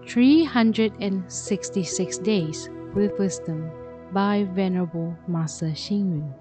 366 Days with Wisdom by Venerable Master Xing Yun.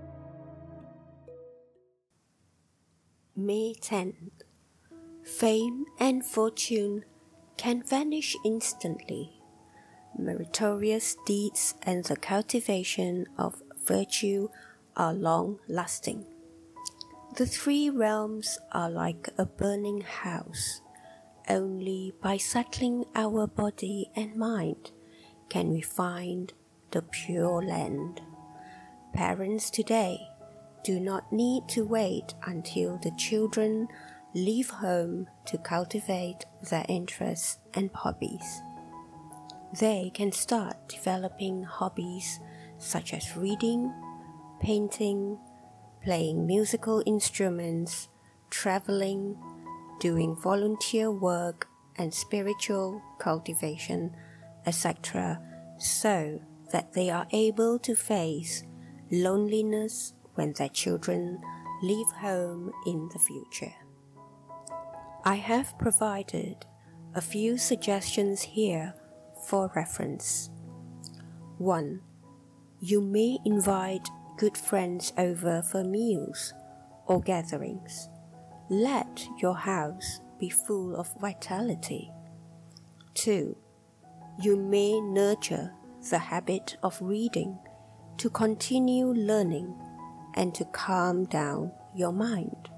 May 10th. Fame and fortune can vanish instantly. Meritorious deeds and the cultivation of virtue are long-lasting. The three realms are like a burning house. Only by settling our body and mind can we find the Pure Land. Parents today do not need to wait until the children leave home to cultivate their interests and hobbies. They can start developing hobbies such as reading, painting, playing musical instruments, traveling, doing volunteer work and spiritual cultivation, etc., so that they are able to face loneliness when their children leave home in the future. I have provided a few suggestions here for reference. 1. You may invite good friends over for meals or gatherings. Let your house be full of vitality. 2. You may nurture the habit of reading to continue learning and to calm down your mind.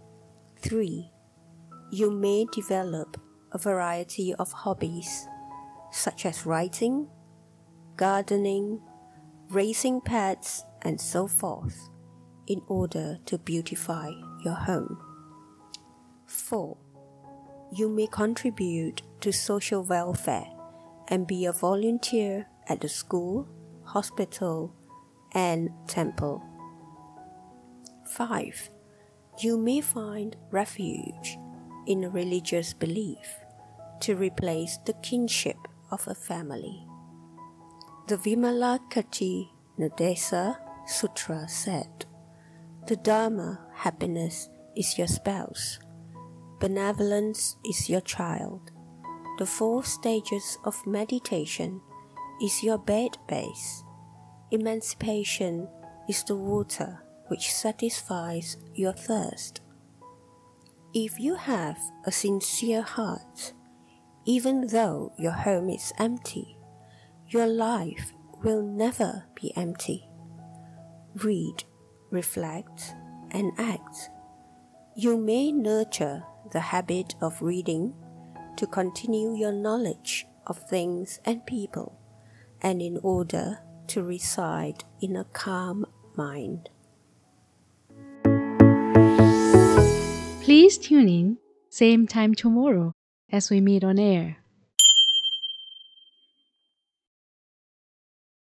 3. You may develop a variety of hobbies such as writing, gardening, raising pets, and so forth in order to beautify your home. 4. You may contribute to social welfare and be a volunteer at the school, hospital, and temple. 5. You may find refuge in a religious belief to replace the kinship of a family. The Vimalakirti Nadesa Sutra said, "The Dharma happiness is your spouse. Benevolence is your child. The 4 stages of meditation is your bed base. Emancipation is the water which satisfies your thirst." If you have a sincere heart, even though your home is empty, your life will never be empty. Read, reflect, and act. You may nurture the habit of reading to continue your knowledge of things and people, and in order to reside in a calm mind. Please tune in, same time tomorrow as we meet on air.